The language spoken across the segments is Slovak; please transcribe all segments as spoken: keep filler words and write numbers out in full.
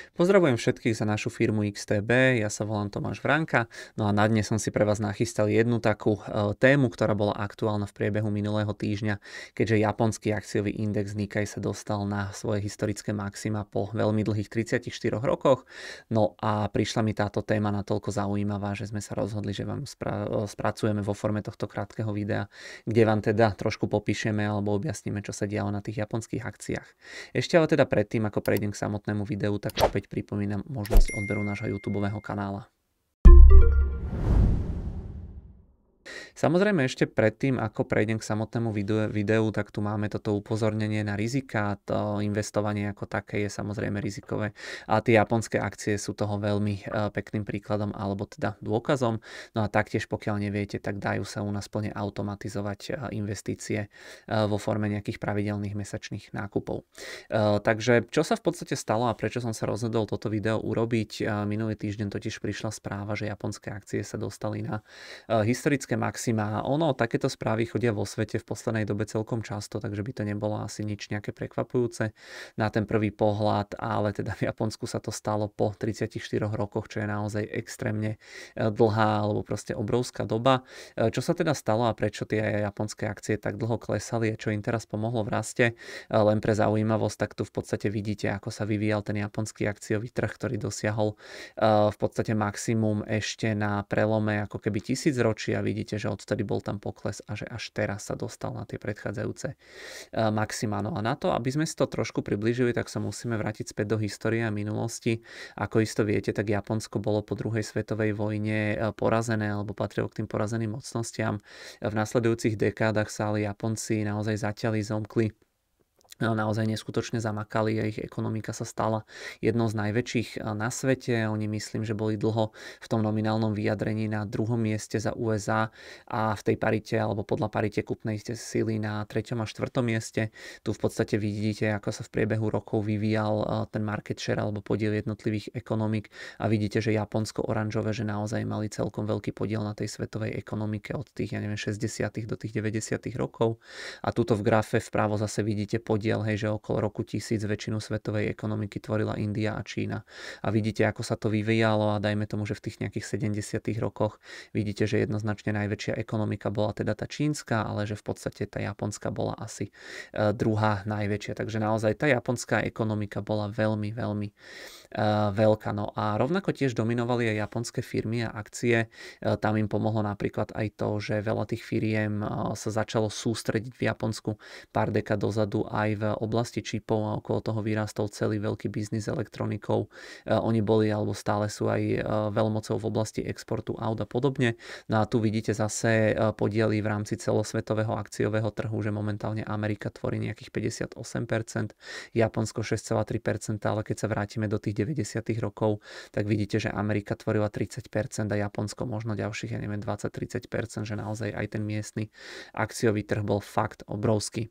Pozdravujem všetkých za našu firmu iks té bé, ja sa volám Tomáš Vránka, no a na dnes som si pre vás nachystal jednu takú e, tému, ktorá bola aktuálna v priebehu minulého týždňa, keďže japonský akciový index Nikkei sa dostal na svoje historické maxima po veľmi dlhých tridsiatich štyroch rokoch. No a prišla mi táto téma natoľko zaujímavá, že sme sa rozhodli, že vám spra- spracujeme vo forme tohto krátkeho videa, kde vám teda trošku popíšeme alebo objasníme, čo sa dialo na tých japonských akciách. Ešte ale teda predtým, ako prejdem k samotnému videu, tak opäť pripomínam možnosť odberu nášho YouTubeového kanála. Samozrejme ešte predtým, ako prejdem k samotnému videu, videu, tak tu máme toto upozornenie na rizika. To investovanie ako také je samozrejme rizikové a tie japonské akcie sú toho veľmi pekným príkladom alebo teda dôkazom. No a taktiež pokiaľ neviete, tak dajú sa u nás plne automatizovať investície vo forme nejakých pravidelných mesačných nákupov. Takže čo sa v podstate stalo a prečo som sa rozhodol toto video urobiť? Minulý týždeň totiž prišla správa, že japonské akcie sa dostali na historické maxima. Ono, takéto správy chodia vo svete v poslednej dobe celkom často, takže by to nebolo asi nič nejaké prekvapujúce na ten prvý pohľad, ale teda v Japonsku sa to stalo po tridsiatich štyroch rokoch, čo je naozaj extrémne dlhá alebo proste obrovská doba. Čo sa teda stalo a prečo tie japonské akcie tak dlho klesali a čo im teraz pomohlo v raste? Len pre zaujímavosť, tak tu v podstate vidíte, ako sa vyvíjal ten japonský akciový trh, ktorý dosiahol v podstate maximum ešte na prelome ako keby tisícročia. Vidíte, že odtedy bol tam pokles a že až teraz sa dostal na tie predchádzajúce maxima. No a na to, aby sme si to trošku priblížili, tak sa musíme vrátiť späť do histórie a minulosti. Ako isto viete, tak Japonsko bolo po druhej svetovej vojne porazené alebo patrilo k tým porazeným mocnostiam. V nasledujúcich dekádach sa ale Japonci naozaj zaťali, zomkli, naozaj neskutočne zamakali a ich ekonomika sa stala jednou z najväčších na svete. Oni myslím, že boli dlho v tom nominálnom vyjadrení na druhom mieste za ú es á a v tej parite alebo podľa parite kúpnej sily na treťom a štvrtom mieste. Tu v podstate vidíte, ako sa v priebehu rokov vyvíjal ten market share alebo podiel jednotlivých ekonomik a vidíte, že Japonsko oranžové, že naozaj mali celkom veľký podiel na tej svetovej ekonomike od tých, ja neviem, šesťdesiatych do tých deväťdesiatych rokov. A tuto v grafe vpravo zase vidíte podiel, hej, že okolo roku tisíc väčšinu svetovej ekonomiky tvorila India a Čína. A vidíte, ako sa to vyvíjalo a dajme tomu, že v tých nejakých sedemdesiatych rokoch vidíte, že jednoznačne najväčšia ekonomika bola teda tá čínska, ale že v podstate tá japonská bola asi uh, druhá najväčšia. Takže naozaj tá japonská ekonomika bola veľmi, veľmi uh, veľká. No a rovnako tiež dominovali aj japonské firmy a akcie. Uh, tam im pomohlo napríklad aj to, že veľa tých firiem uh, sa začalo sústrediť v Japonsku pár dekád dozadu aj v oblasti čipov a okolo toho vyrástol celý veľký biznis elektronikou. Oni boli alebo stále sú aj veľmocou v oblasti exportu aut a podobne. No a tu vidíte zase podiely v rámci celosvetového akciového trhu, že momentálne Amerika tvorí nejakých päťdesiatosem percent, Japonsko šesť celá tri percenta, ale keď sa vrátime do tých deväťdesiatych rokov, tak vidíte, že Amerika tvorila tridsať percent a Japonsko možno ďalších, ja neviem, dvadsať až tridsať percent, že naozaj aj ten miestny akciový trh bol fakt obrovský.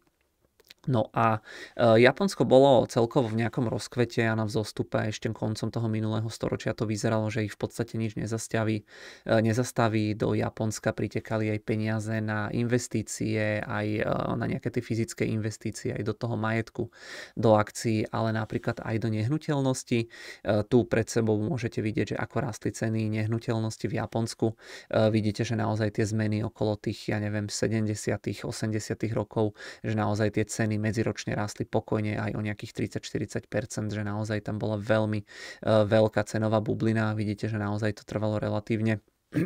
No a e, Japonsko bolo celkovo v nejakom rozkvete a na vzostupe ešte koncom toho minulého storočia to vyzeralo, že ich v podstate nič nezastaví. E, nezastaví. Do Japonska pritekali aj peniaze na investície, aj e, na nejaké tie fyzické investície, aj do toho majetku, do akcií, ale napríklad aj do nehnuteľnosti. E, tu pred sebou môžete vidieť, že ako rástli ceny nehnuteľnosti v Japonsku. E, vidíte, že naozaj tie zmeny okolo tých, ja neviem, sedemdesiatych, osemdesiatych rokov, že naozaj tie ceny medziročne rástli pokojne aj o nejakých tridsať až štyridsať percent, že naozaj tam bola veľmi uh, veľká cenová bublina. Vidíte, že naozaj to trvalo relatívne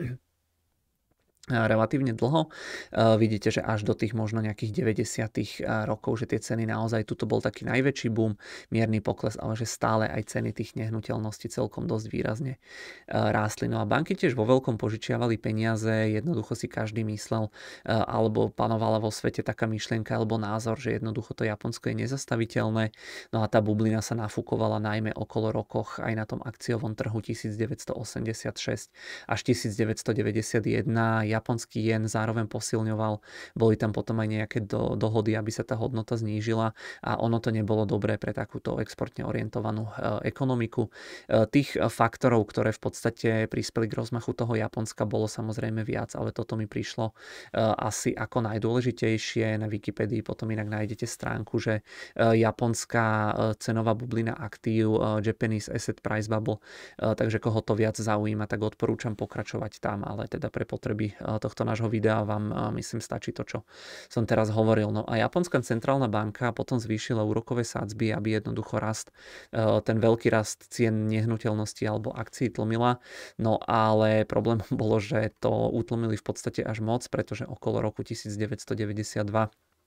relatívne dlho. Uh, vidíte, že až do tých možno nejakých deväťdesiatych rokov, že tie ceny naozaj, tuto bol taký najväčší boom, mierny pokles, ale že stále aj ceny tých nehnuteľností celkom dosť výrazne uh, rástli. No a banky tiež vo veľkom požičiavali peniaze, jednoducho si každý myslel, uh, alebo panovala vo svete taká myšlienka alebo názor, že jednoducho to Japonsko je nezastaviteľné. No a tá bublina sa nafúkovala najmä okolo rokoch aj na tom akciovom trhu devätnásťstoosemdesiatšesť až devätnásťstodeväťdesiatjeden. japonský jen zároveň posilňoval, boli tam potom aj nejaké do, dohody, aby sa tá hodnota znížila a ono to nebolo dobré pre takúto exportne orientovanú ekonomiku. Tých faktorov, ktoré v podstate prispeli k rozmachu toho Japonska, bolo samozrejme viac, ale toto mi prišlo asi ako najdôležitejšie. Na Wikipedii potom inak nájdete stránku, že japonská cenová bublina aktív, Japanese Asset Price Bubble, takže koho to viac zaujíma, tak odporúčam pokračovať tam, ale teda pre potreby tohto nášho videa vám myslím stačí to, čo som teraz hovoril. No a Japonská centrálna banka potom zvýšila úrokové sadzby, aby jednoducho rast, ten veľký rast cien nehnuteľnosti alebo akcií tlmila. No ale problém bolo, že to utlmili v podstate až moc, pretože okolo roku devätnásťstodeväťdesiatdva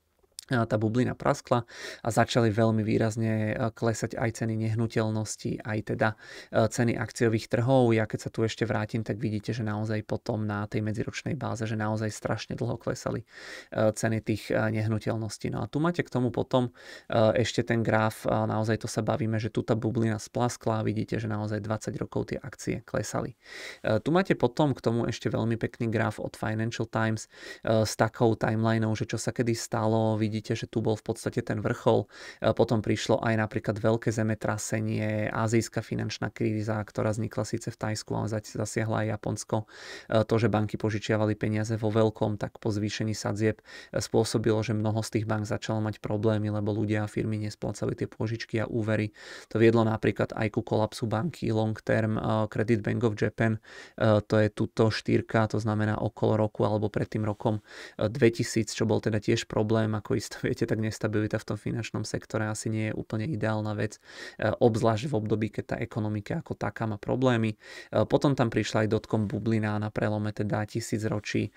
tá bublina praskla a začali veľmi výrazne klesať aj ceny nehnuteľností, aj teda ceny akciových trhov. Ja keď sa tu ešte vrátim, tak vidíte, že naozaj potom na tej medziročnej báze, že naozaj strašne dlho klesali ceny tých nehnuteľností. No a tu máte k tomu potom ešte ten graf, naozaj to sa bavíme, že tu tá bublina splaskla a vidíte, že naozaj dvadsať rokov tie akcie klesali. Tu máte potom k tomu ešte veľmi pekný graf od Financial Times s takou timelineou, že čo sa kedy stalo. Vidíte, že tu bol v podstate ten vrchol. Potom prišlo aj napríklad veľké zemetrasenie, azijská finančná kríza, ktorá vznikla síce v Thajsku, ale zasiahla aj Japonsko. To, že banky požičiavali peniaze vo veľkom, tak po zvýšení sadzieb spôsobilo, že mnoho z tých bank začalo mať problémy, lebo ľudia a firmy nesplácali tie pôžičky a úvery. To viedlo napríklad aj ku kolapsu banky Long Term Credit Bank of Japan. To je tuto štyrka, to znamená okolo roku alebo pred tým rokom dvetisíc, čo bol teda tiež problém, ako isto viete, tak nestabilita v tom finančnom sektore asi nie je úplne ideálna vec, obzvlášť v období, keď tá ekonomika ako taká má problémy. Potom tam prišla aj dotcom bublina na prelome teda tisícročí.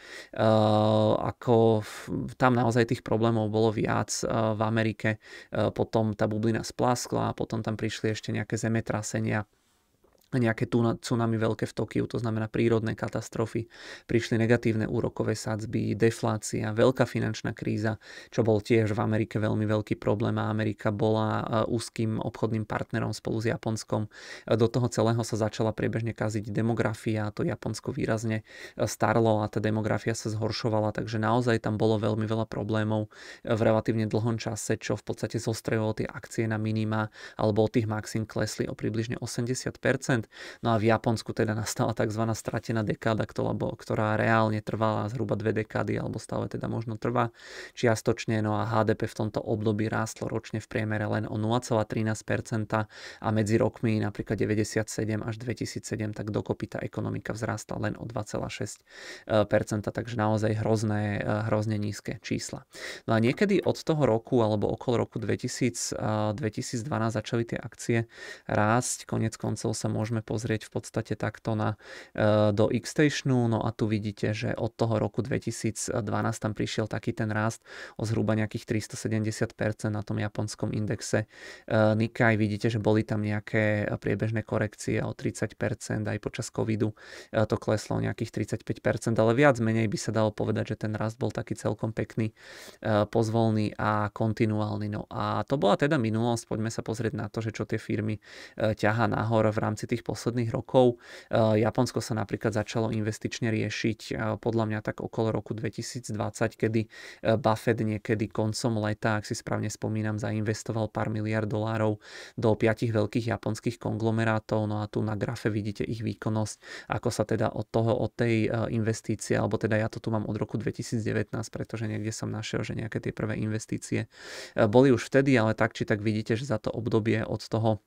Ako tam naozaj tých problémov bolo viac v Amerike. Potom tá bublina splaskla, potom tam prišli ešte nejaké zemetrasenia, nejaké tsunami veľké v Tokiu, to znamená prírodné katastrofy, prišli negatívne úrokové sadzby, deflácia, veľká finančná kríza, čo bol tiež v Amerike veľmi veľký problém a Amerika bola úzkým obchodným partnerom spolu s Japonskom. Do toho celého sa začala priebežne kaziť demografia, to Japonsko výrazne starlo a tá demografia sa zhoršovala, takže naozaj tam bolo veľmi veľa problémov v relatívne dlhom čase, čo v podstate zostrojilo tie akcie na minima alebo od tých maxim klesli o približne osemdesiat percent. No a v Japonsku teda nastala tzv. Stratená dekáda, ktorá reálne trvala zhruba dve dekády, alebo stále teda možno trvá čiastočne. No a há dé pé v tomto období rástlo ročne v priemere len o nula celá trinásť percenta a medzi rokmi napríklad deväťdesiatsedem až dvetisícsedem, tak dokopy tá ekonomika vzrastla len o dva celá šesť percenta, takže naozaj hrozné, hrozne nízke čísla. No a niekedy od toho roku alebo okolo roku dvetisíc, dvetisícdvanásť začali tie akcie rásť, konec koncov sa môže môžeme pozrieť v podstate takto na, do X-Stationu, no a tu vidíte, že od toho roku dvetisícdvanásť tam prišiel taký ten rast o zhruba nejakých tristosedemdesiat percent na tom japonskom indexe Nikkei. Vidíte, že boli tam nejaké priebežné korekcie o tridsať percent, aj počas covidu to kleslo o nejakých tridsaťpäť percent, ale viac menej by sa dalo povedať, že ten rast bol taký celkom pekný, pozvolný a kontinuálny. No a to bola teda minulosť, poďme sa pozrieť na to, že čo tie firmy ťahá nahor v rámci tých posledných rokov. Japonsko sa napríklad začalo investične riešiť podľa mňa tak okolo roku dvetisícdvadsať, kedy Buffett niekedy koncom leta, ak si správne spomínam, zainvestoval pár miliard dolárov do piatich veľkých japonských konglomerátov. No a tu na grafe vidíte ich výkonnosť, ako sa teda od toho, od tej investície, alebo teda ja to tu mám od roku dvetisícdevätnásť, pretože niekde som našiel, že nejaké tie prvé investície boli už vtedy, ale tak či tak vidíte, že za to obdobie od toho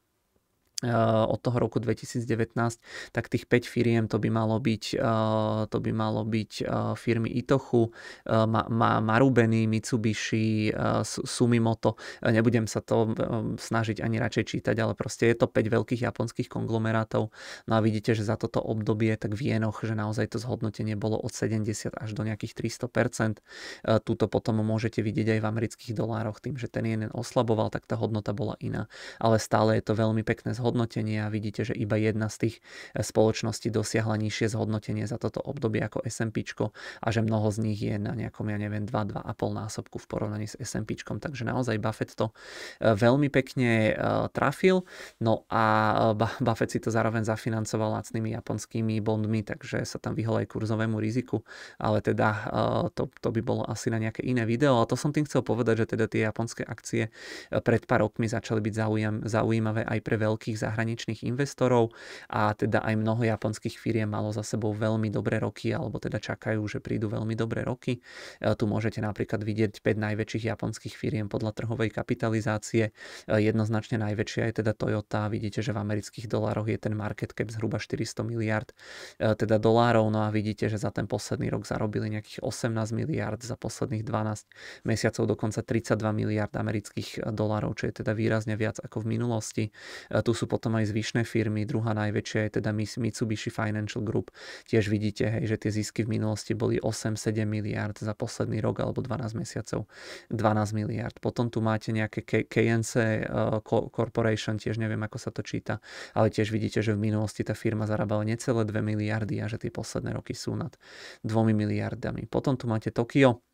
od toho roku dvetisícdevätnásť, tak tých päť firiem to by malo byť, to by malo byť firmy Itochu, Marubeni, Mitsubishi, Sumimoto. Nebudem sa to snažiť ani radšej čítať, ale proste je to päť veľkých japonských konglomerátov. No a vidíte, že za toto obdobie tak v jenoch, že naozaj to zhodnotenie bolo od sedemdesiat až do nejakých tristo percent. Tuto potom môžete vidieť aj v amerických dolároch, tým, že ten jeden oslaboval, tak tá hodnota bola iná. Ale stále je to veľmi pekné zhodnotenie. zhodnotenie a vidíte, že iba jedna z tých spoločností dosiahla nižšie zhodnotenie za toto obdobie ako es em pé a že mnoho z nich je na nejakom, ja neviem, dva, dva a pol násobku v porovnaní s es em pé. Takže naozaj Buffett to veľmi pekne trafil. No a Buffett si to zároveň zafinancoval lacnými japonskými bondmi, takže sa tam vyhol aj kurzovému riziku, ale teda to, to by bolo asi na nejaké iné video. A to som tým chcel povedať, že teda tie japonské akcie pred pár rokmi začali byť zaujímavé aj pre veľkých zahraničných investorov a teda aj mnoho japonských firiem malo za sebou veľmi dobré roky, alebo teda čakajú, že prídu veľmi dobré roky. Tu môžete napríklad vidieť päť najväčších japonských firiem podľa trhovej kapitalizácie. Jednoznačne najväčšia je teda Toyota. Vidíte, že v amerických dolároch je ten market cap zhruba štyristo miliárd teda dolárov. No a vidíte, že za ten posledný rok zarobili nejakých osemnásť miliárd, za posledných dvanásť mesiacov dokonca tridsaťdva miliárd amerických dolárov, čo je teda výrazne viac ako v minulosti. Tu sú potom aj zvyšné firmy. Druhá najväčšia je teda Mitsubishi Financial Group. Tiež vidíte, hej, že tie zisky v minulosti boli osem sedem miliárd, za posledný rok alebo dvanásť mesiacov dvanásť miliárd. Potom tu máte nejaké K N C Corporation, tiež neviem, ako sa to číta, ale tiež vidíte, že v minulosti tá firma zarábala necelé dve miliardy a že tie posledné roky sú nad dvomi miliardami. Potom tu máte Tokio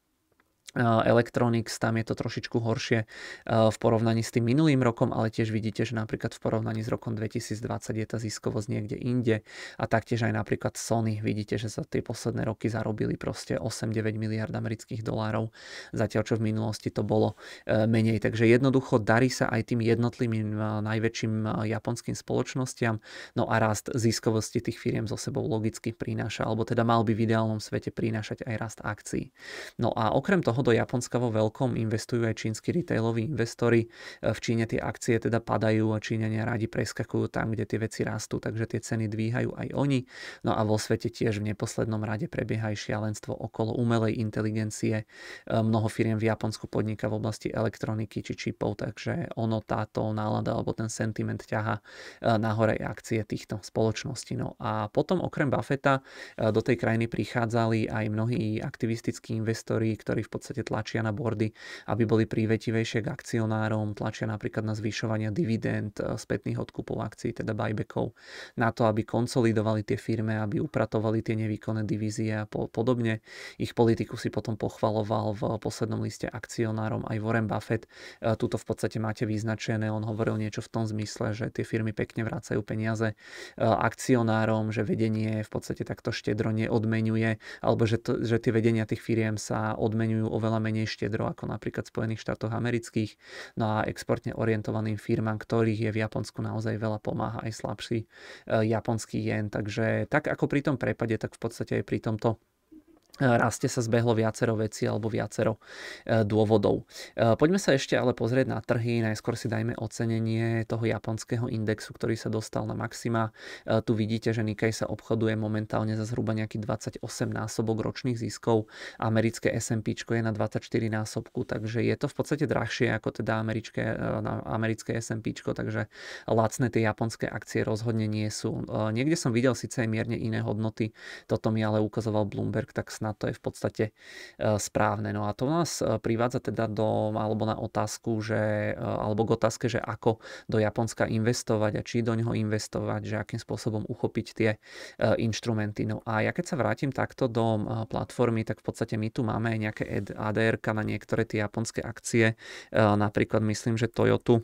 Electronics, tam je to trošičku horšie v porovnaní s tým minulým rokom, ale tiež vidíte, že napríklad v porovnaní s rokom dvetisícdvadsať je tá ziskovosť niekde inde a taktiež aj napríklad Sony, vidíte, že za tie posledné roky zarobili proste osem deväť miliárd amerických dolárov, zatiaľ čo v minulosti to bolo menej, takže jednoducho darí sa aj tým jednotlivým najväčším japonským spoločnostiam, no a rast ziskovosti tých firiem so sebou logicky prináša, alebo teda mal by v ideálnom svete prinášať aj rast akcií. No a okrem toho do Japonska vo veľkom investujú aj čínsky retailoví investori. V Číne tie akcie teda padajú a Číňania radi preskakujú tam, kde tie veci rastú, takže tie ceny dvíhajú aj oni. No a vo svete tiež v neposlednom rade prebieha aj šialenstvo okolo umelej inteligencie. Mnoho firiem v Japonsku podniká v oblasti elektroniky či čipov, takže ono táto nálada alebo ten sentiment ťaha nahore akcie týchto spoločností. No a potom okrem Buffetta do tej krajiny prichádzali aj mnohí aktivistickí investori, ktorí v podstate tlačia na bordy, aby boli prívetivejšie k akcionárom, tlačia napríklad na zvyšovanie dividend, spätných odkupov akcií, teda buybackov, na to, aby konsolidovali tie firmy, aby upratovali tie nevýkonné divízie a podobne. Ich politiku si potom pochvaloval v poslednom liste akcionárom aj Warren Buffett. Tuto v podstate máte vyznačené, on hovoril niečo v tom zmysle, že tie firmy pekne vracajú peniaze akcionárom, že vedenie v podstate takto štedro neodmeňuje, alebo že, to, že tie vedenia tých firiem sa odmeňujú oveľa menej štedro ako napríklad v Spojených štátoch amerických. No a exportne orientovaným firmám, ktorých je v Japonsku naozaj veľa, pomáha aj slabší japonský jen. Takže tak ako pri tom prepade, tak v podstate aj pri tomto raste sa zbehlo viacero vecí alebo viacero dôvodov. Poďme sa ešte ale pozrieť na trhy. Najskôr si dajme ocenenie toho japonského indexu, ktorý sa dostal na maxima. Tu vidíte, že Nikkei sa obchoduje momentálne za zhruba nejaký dvadsaťosem násobok ročných ziskov. Americké es em pé je na dvadsaťštyri násobku, takže je to v podstate drahšie ako teda americké, americké es em pé, takže lacné tie japonské akcie rozhodne nie sú. Niekde som videl síce aj mierne iné hodnoty, toto mi ale ukazoval Bloomberg, tak snad to je v podstate správne. No a to nás privádza teda do, alebo na otázku, že, alebo k otázke, že ako do Japonska investovať a či do neho investovať, že akým spôsobom uchopiť tie inštrumenty. No a ja keď sa vrátim takto do platformy, tak v podstate my tu máme aj nejaké á dé erka na niektoré tie japonské akcie. Napríklad myslím, že Toyotu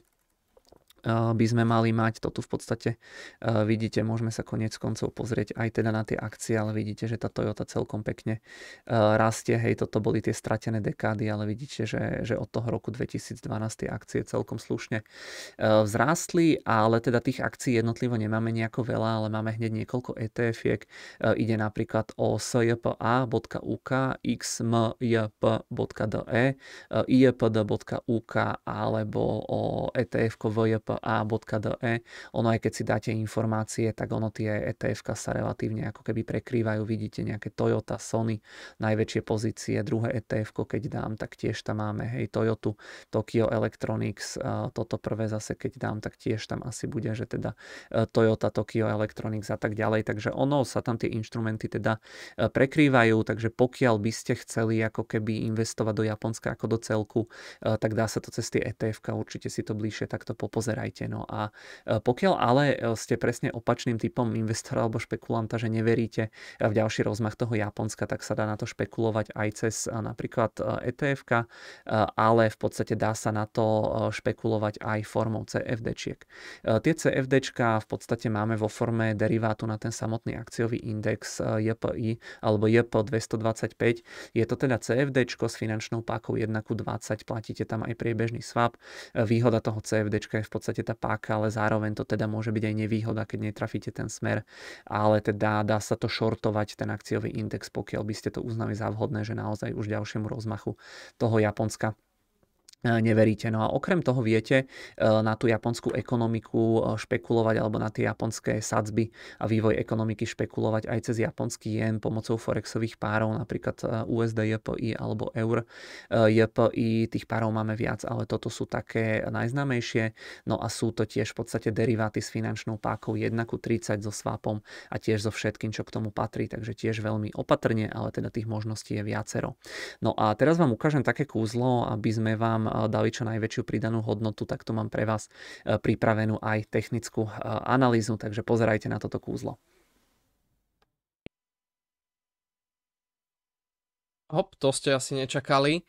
by sme mali mať. To tu v podstate vidíte, môžeme sa koniec koncov pozrieť aj teda na tie akcie, ale vidíte, že tá Toyota celkom pekne rastie. Hej, toto boli tie stratené dekády, ale vidíte, že, že od toho roku dvetisícdvanásť tie akcie celkom slušne vzrástli, ale teda tých akcií jednotlivo nemáme nejako veľa, ale máme hneď niekoľko é té efiek. Ide napríklad o es j p a bodka u k, x m j p bodka d e, i j p d bodka u k alebo o é té ef vé j p a bodka d e. Ono aj keď si dáte informácie, tak ono tie é té efka sa relatívne ako keby prekrývajú. Vidíte nejaké Toyota, Sony, najväčšie pozície. Druhé é té efko, keď dám, tak tiež tam máme, hej, Toyotu, Tokyo Electronics. Toto prvé zase, keď dám, tak tiež tam asi bude, že teda Toyota, Tokyo Electronics a tak ďalej. Takže ono sa tam tie inštrumenty teda prekrývajú, takže pokiaľ by ste chceli ako keby investovať do Japonska ako do celku, tak dá sa to cez tie é té efka, určite si to bližšie takto popozerať. nepredbiehajte. No a pokiaľ ale ste presne opačným typom investora alebo špekulanta, že neveríte v ďalší rozmach toho Japonska, tak sa dá na to špekulovať aj cez napríklad é té efka, ale v podstate dá sa na to špekulovať aj formou cé ef déčiek. Tie cé ef déčka v podstate máme vo forme derivátu na ten samotný akciový index jé pé í alebo jé pé dvestodvadsaťpäť. Je to teda cé ef déčko s finančnou pákou jeden ku dvadsať, platíte tam aj priebežný swap. Výhoda toho cé ef déčka je v podstate tá páka, ale zároveň to teda môže byť aj nevýhoda, keď netrafíte ten smer, ale teda dá sa to shortovať ten akciový index, pokiaľ by ste to uznali za vhodné, že naozaj už ďalšiemu rozmachu toho Japonska neveríte. No a okrem toho viete na tú japonskú ekonomiku špekulovať alebo na tie japonské sadzby a vývoj ekonomiky špekulovať aj cez japonský jen pomocou forexových párov, napríklad ú es dé jé pé í alebo eur jé pé í. Tých párov máme viac, ale toto sú také najznámejšie. No a sú to tiež v podstate deriváty s finančnou pákou jeden ku tridsať so swapom a tiež so všetkým, čo k tomu patrí, takže tiež veľmi opatrne, ale teda tých možností je viacero. No a teraz vám ukážem také kúzlo, aby sme vám dali čo najväčšiu pridanú hodnotu, tak tu mám pre vás pripravenú aj technickú analýzu, takže pozerajte na toto kúzlo. Hop, to ste asi nečakali.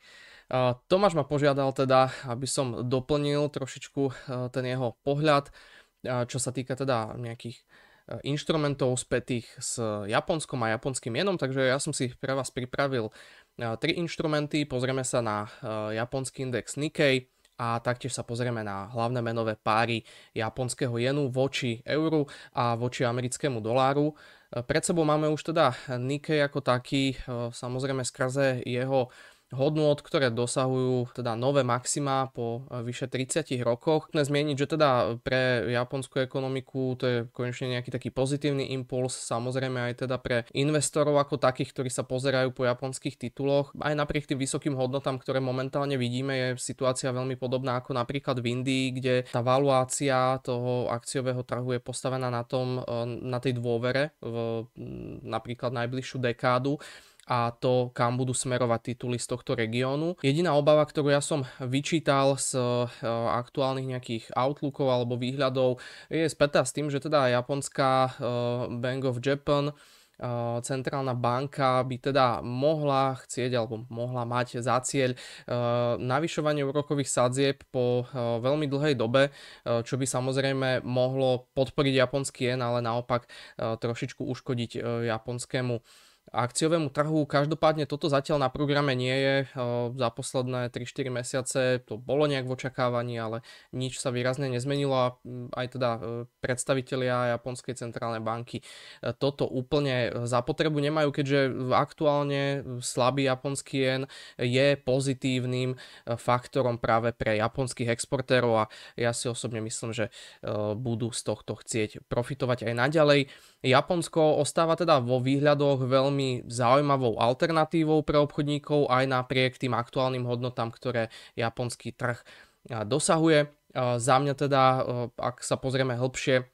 Tomáš ma požiadal teda, aby som doplnil trošičku ten jeho pohľad, čo sa týka teda nejakých inštrumentov spätých s Japonskom a japonským jenom, takže ja som si pre vás pripravil tri inštrumenty. Pozrieme sa na japonský index Nikkei a taktiež sa pozrieme na hlavné menové páry japonského jenu voči euru a voči americkému doláru. Pred sebou máme už teda Nikkei ako taký, samozrejme skrze jeho hodnôt, ktoré dosahujú teda nové maxima po vyše tridsiatich rokoch. Chcem zmieniť, že teda pre japonskú ekonomiku to je konečne nejaký taký pozitívny impuls, samozrejme aj teda pre investorov ako takých, ktorí sa pozerajú po japonských tituloch. Aj napriek tým vysokým hodnotám, ktoré momentálne vidíme, je situácia veľmi podobná ako napríklad v Indii, kde tá valuácia toho akciového trhu je postavená na tom, na tej dôvere v napríklad najbližšiu dekádu a to, kam budú smerovať tituly z tohto regiónu. Jediná obava, ktorú ja som vyčítal z aktuálnych nejakých outlookov alebo výhľadov, je spätá s tým, že teda japonská Bank of Japan, centrálna banka, by teda mohla chcieť alebo mohla mať za cieľ navyšovanie úrokových sadzieb po veľmi dlhej dobe, čo by samozrejme mohlo podporiť japonský jen, ale naopak trošičku uškodiť japonskému akciovému trhu. Každopádne toto zatiaľ na programe nie je. Za posledné tri štyri mesiace to bolo nejak v očakávaní, ale nič sa výrazne nezmenilo a aj teda predstavitelia Japonskej centrálnej banky toto úplne za potrebu nemajú, keďže aktuálne slabý japonský jen je pozitívnym faktorom práve pre japonských exportérov a ja si osobne myslím, že budú z tohto chcieť profitovať aj naďalej. Japonsko ostáva teda vo výhľadoch veľmi zaujímavou alternatívou pre obchodníkov aj napriek tým aktuálnym hodnotám, ktoré japonský trh dosahuje. Za mňa teda, ak sa pozrieme hlbšie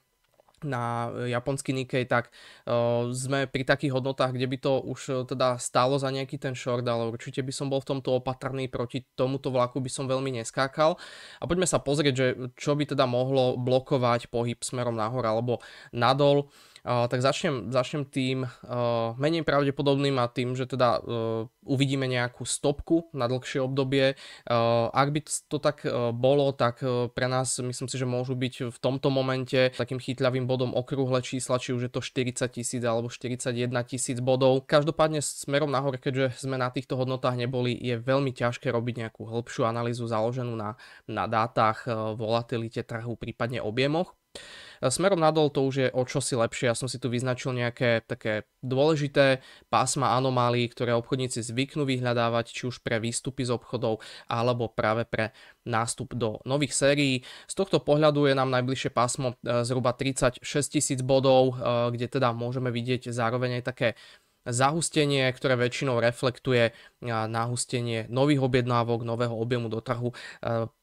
na japonský Nikkei, tak uh, sme pri takých hodnotách, kde by to už uh, teda stálo za nejaký ten short, ale určite by som bol v tomto opatrný, proti tomuto vlaku by som veľmi neskákal. A poďme sa pozrieť, že čo by teda mohlo blokovať pohyb smerom nahor alebo nadol. Uh, tak začnem, začnem tým uh, menej pravdepodobným a tým, že teda uh, uvidíme nejakú stopku na dlhšie obdobie. Uh, ak by to tak uh, bolo, tak uh, pre nás myslím si, že môžu byť v tomto momente takým chytľavým bodom okrúhle čísla, či už je to štyridsať tisíc alebo štyridsaťjeden tisíc bodov. Každopádne smerom nahor, keďže sme na týchto hodnotách neboli, je veľmi ťažké robiť nejakú hĺbšiu analýzu založenú na, na dátach, uh, volatilite trhu, prípadne objemoch. Smerom nadol to už je o čosi lepšie. Ja som si tu vyznačil nejaké také dôležité pásma anomálií, ktoré obchodníci zvyknú vyhľadávať, či už pre výstupy z obchodov alebo práve pre nástup do nových sérií. Z tohto pohľadu je nám najbližšie pásmo zhruba tridsaťšesť tisíc bodov, kde teda môžeme vidieť zároveň aj také zahustenie, ktoré väčšinou reflektuje nahustenie nových objednávok, nového objemu do trhu.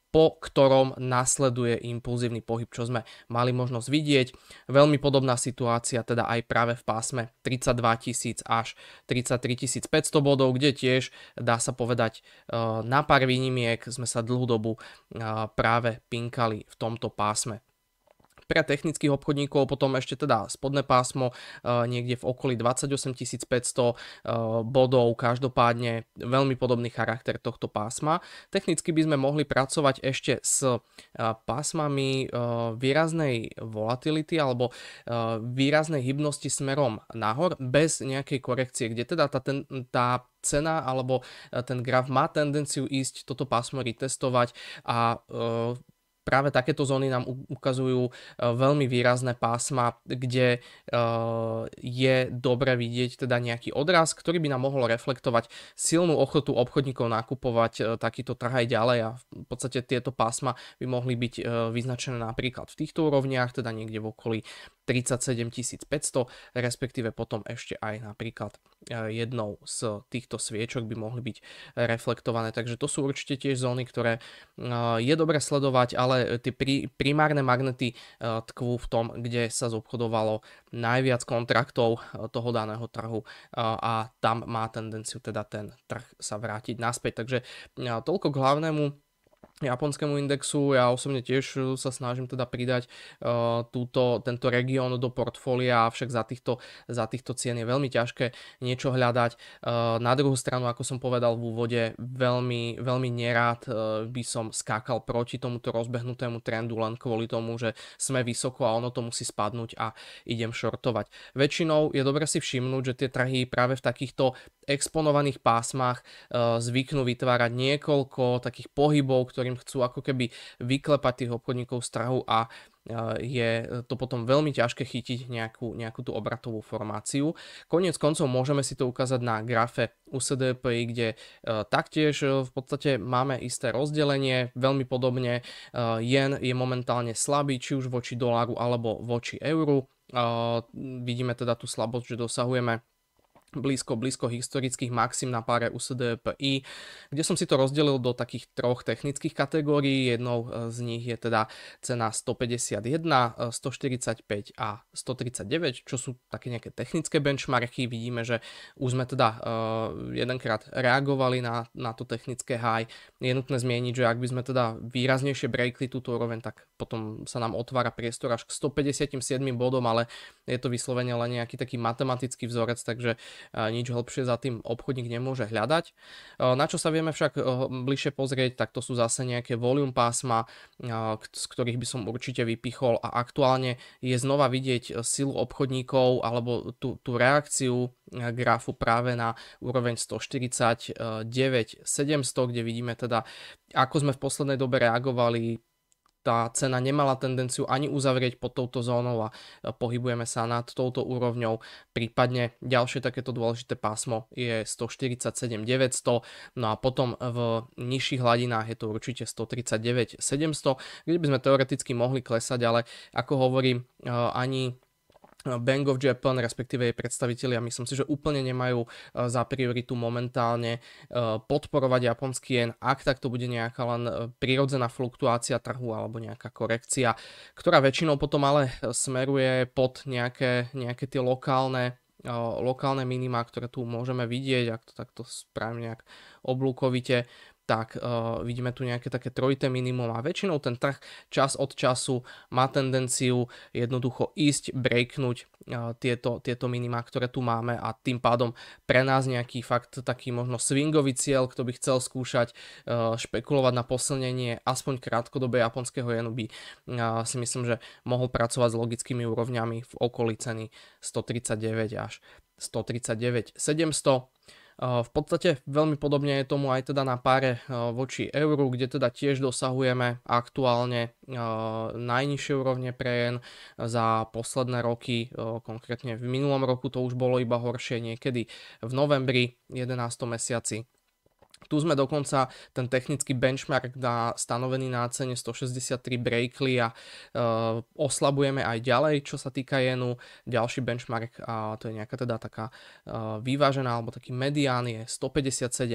po ktorom nasleduje impulzívny pohyb, čo sme mali možnosť vidieť. Veľmi podobná situácia teda aj práve v pásme tridsaťdva tisíc až tridsaťtri tisíc päťsto bodov, kde tiež dá sa povedať na pár výnimiek sme sa dlhú dobu práve pinkali v tomto pásme. Pre technických obchodníkov potom ešte teda spodné pásmo niekde v okolí dvadsaťosem tisíc päťsto bodov, každopádne veľmi podobný charakter tohto pásma. Technicky by sme mohli pracovať ešte s pásmami výraznej volatility alebo výraznej hybnosti smerom nahor bez nejakej korekcie, kde teda tá, ten, tá cena alebo ten graf má tendenciu ísť toto pásmo retestovať a práve takéto zóny nám ukazujú veľmi výrazné pásma, kde je dobre vidieť teda nejaký odraz, ktorý by nám mohol reflektovať silnú ochotu obchodníkov nakupovať takýto trh aj ďalej a v podstate tieto pásma by mohli byť vyznačené napríklad v týchto úrovniach, teda niekde v okolí tridsaťsedem tisíc päťsto, respektíve potom ešte aj napríklad jednou z týchto sviečok by mohli byť reflektované. Takže to sú určite tiež zóny, ktoré je dobre sledovať, ale tie primárne magnety tkvú v tom, kde sa zobchodovalo najviac kontraktov toho daného trhu a tam má tendenciu teda ten trh sa vrátiť naspäť. Takže toľko k hlavnému japonskému indexu. Ja osobne tiež sa snažím teda pridať uh, túto, tento región do portfólia, avšak za týchto, za týchto cien je veľmi ťažké niečo hľadať. Uh, na druhú stranu, ako som povedal v úvode, veľmi, veľmi nerád uh, by som skákal proti tomuto rozbehnutému trendu len kvôli tomu, že sme vysoko a ono to musí spadnúť a idem shortovať. Väčšinou je dobre si všimnúť, že tie trhy práve v takýchto exponovaných pásmach uh, zvyknú vytvárať niekoľko takých pohybov, ktorým chcú ako keby vyklepať tých obchodníkov z trhu a je to potom veľmi ťažké chytiť nejakú, nejakú tú obratovú formáciu. Koniec koncov môžeme si to ukázať na grafe U S D P I, kde taktiež v podstate máme isté rozdelenie, veľmi podobne jen je momentálne slabý, či už voči doláru alebo voči euru. Vidíme teda tú slabosť, že dosahujeme blízko, blízko historických maxim na páre U S D P I, kde som si to rozdelil do takých troch technických kategórií. Jednou z nich je teda cena stopäťdesiatjeden, stoštyridsaťpäť a stotridsaťdeväť, čo sú také nejaké technické benchmarky. Vidíme, že už sme teda uh, jedenkrát reagovali na, na to technické high. Je nutné zmieniť, že ak by sme teda výraznejšie breakli túto úroveň, tak potom sa nám otvára priestor až k stopäťdesiatsedem bodom, ale je to vyslovene len nejaký taký matematický vzorec, takže nič hlbšie za tým obchodník nemôže hľadať. Na čo sa vieme však bližšie pozrieť, tak to sú zase nejaké volume pásma, z ktorých by som určite vypichol a aktuálne je znova vidieť silu obchodníkov alebo tú, tú reakciu grafu práve na úroveň stoštyridsaťdeväť sedemsto, kde vidíme teda, ako sme v poslednej dobe reagovali. Tá cena nemala tendenciu ani uzavrieť pod touto zónou a pohybujeme sa nad touto úrovňou. Prípadne ďalšie takéto dôležité pásmo je stoštyridsaťsedem deväťsto, no a potom v nižších hladinách je to určite stotridsaťdeväť sedemsto, kde by sme teoreticky mohli klesať, ale ako hovorím, ani Bank of Japan, respektíve jej predstavitelia, myslím si, že úplne nemajú za prioritu momentálne podporovať japonský jen, ak tak to bude nejaká len prirodzená fluktuácia trhu alebo nejaká korekcia, ktorá väčšinou potom ale smeruje pod nejaké, nejaké tie lokálne lokálne minima, ktoré tu môžeme vidieť, ak to takto spravím nejak oblúkovite, tak uh, vidíme tu nejaké také trojité minimum a väčšinou ten trh čas od času má tendenciu jednoducho ísť, breaknúť uh, tieto, tieto minima, ktoré tu máme a tým pádom pre nás nejaký fakt taký možno swingový cieľ, kto by chcel skúšať uh, špekulovať na posilnenie aspoň krátkodobé japonského jenu by uh, si myslím, že mohol pracovať s logickými úrovňami v okolí ceny stotridsaťdeväť až stotridsaťdeväť sedemsto. V podstate veľmi podobne je tomu aj teda na páre voči euru, kde teda tiež dosahujeme aktuálne najnižšie úrovne pre jen za posledné roky, konkrétne v minulom roku to už bolo iba horšie niekedy v novembri, jedenástom mesiaci. Tu sme dokonca ten technický benchmark na, stanovený na cene stošesťdesiattri breakli a uh, oslabujeme aj ďalej, čo sa týka jenu. Ďalší benchmark, a to je nejaká teda taká uh, vyvážená alebo taký medián je stopäťdesiatsedem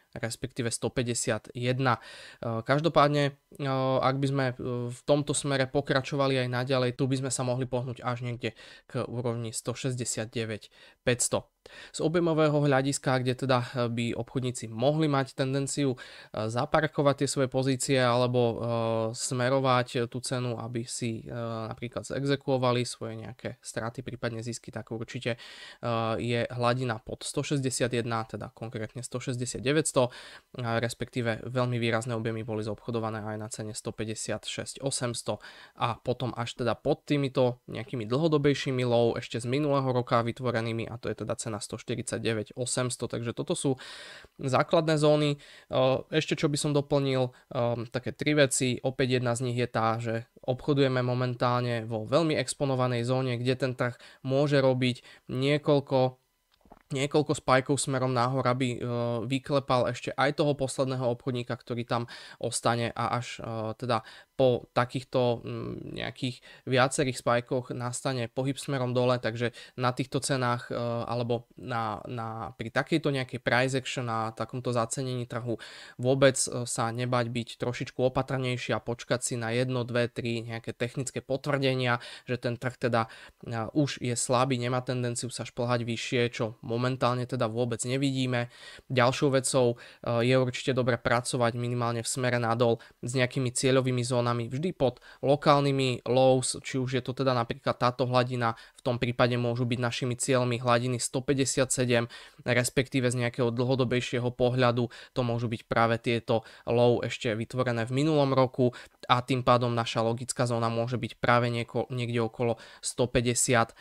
respektíve stopäťdesiatjeden. Každopádne, ak by sme v tomto smere pokračovali aj naďalej, tu by sme sa mohli pohnúť až niekde k úrovni stošesťdesiatdeväť päťsto. Z objemového hľadiska, kde teda by obchodníci mohli mať tendenciu zaparkovať tie svoje pozície alebo smerovať tú cenu, aby si napríklad exekuovali svoje nejaké straty, prípadne zisky, tak určite je hladina pod stošesťdesiatjeden, teda konkrétne stošesťdesiatdeväťsto, respektíve veľmi výrazné objemy boli zobchodované aj na cene stopäťdesiatšesť osemsto a potom až teda pod týmito nejakými dlhodobejšími low ešte z minulého roka vytvorenými, a to je teda cena stoštyridsaťdeväť osemsto, takže toto sú základné zóny. Ešte čo by som doplnil, také tri veci, opäť jedna z nich je tá, že obchodujeme momentálne vo veľmi exponovanej zóne, kde ten trh môže robiť niekoľko niekoľko spajkov smerom nahor, aby vyklepal ešte aj toho posledného obchodníka, ktorý tam ostane, a až teda po takýchto nejakých viacerých spajkoch nastane pohyb smerom dole, takže na týchto cenách alebo na, na, pri takejto nejakej price action, na takomto zacenení trhu vôbec sa nebať byť trošičku opatrnejší a počkať si na jedno, dve, tri nejaké technické potvrdenia, že ten trh teda už je slabý, nemá tendenciu sa šplhať vyššie, čo momentálne teda vôbec nevidíme. Ďalšou vecou je určite dobre pracovať minimálne v smere nadol s nejakými cieľovými zónami vždy pod lokálnymi lows, či už je to teda napríklad táto hladina, v tom prípade môžu byť našimi cieľmi hladiny stopäťdesiatsedem, respektíve z nejakého dlhodobejšieho pohľadu to môžu byť práve tieto low ešte vytvorené v minulom roku, a tým pádom naša logická zóna môže byť práve nieko, niekde okolo stopäťdesiat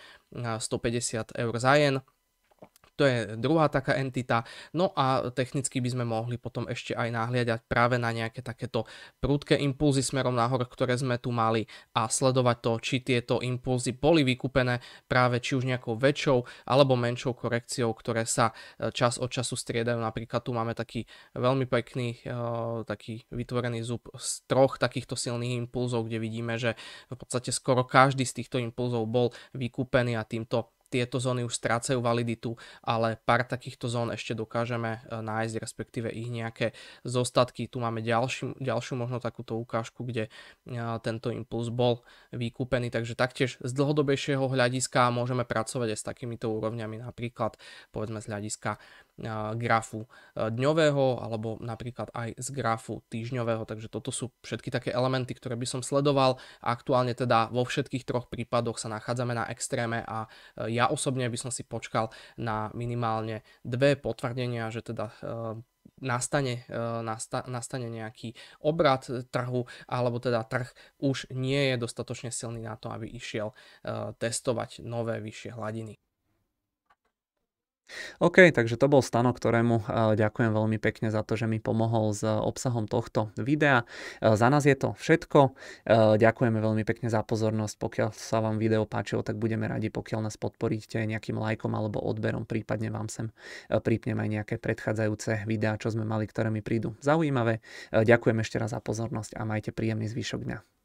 eur za jen. To je druhá taká entita. No a technicky by sme mohli potom ešte aj nahliadať práve na nejaké takéto prudké impulzy smerom nahor, ktoré sme tu mali, a sledovať to, či tieto impulzy boli vykúpené práve či už nejakou väčšou alebo menšou korekciou, ktoré sa čas od času striedajú. Napríklad tu máme taký veľmi pekný taký vytvorený zub z troch takýchto silných impulzov, kde vidíme, že v podstate skoro každý z týchto impulzov bol vykúpený a týmto tieto zóny už strácajú validitu, ale pár takýchto zón ešte dokážeme nájsť, respektíve ich nejaké zostatky. Tu máme ďalšiu, ďalšiu možno takúto ukážku, kde tento impuls bol vykúpený, takže taktiež z dlhodobejšieho hľadiska môžeme pracovať aj s takýmito úrovňami, napríklad povedzme z hľadiska grafu dňového alebo napríklad aj z grafu týždňového, takže toto sú všetky také elementy, ktoré by som sledoval. Aktuálne teda vo všetkých troch prípadoch sa nachádzame na extréme a ja osobne by som si počkal na minimálne dve potvrdenia, že teda nastane, nasta, nastane nejaký obrat trhu, alebo teda trh už nie je dostatočne silný na to, aby išiel testovať nové vyššie hladiny. OK, takže to bol Stano, ktorému ďakujem veľmi pekne za to, že mi pomohol s obsahom tohto videa. Za nás je to všetko. Ďakujeme veľmi pekne za pozornosť. Pokiaľ sa vám video páčilo, tak budeme radi, pokiaľ nás podporíte nejakým lajkom alebo odberom, prípadne vám sem pripnem aj nejaké predchádzajúce videá, čo sme mali, ktoré mi prídu zaujímavé. Ďakujem ešte raz za pozornosť a majte príjemný zvyšok dňa.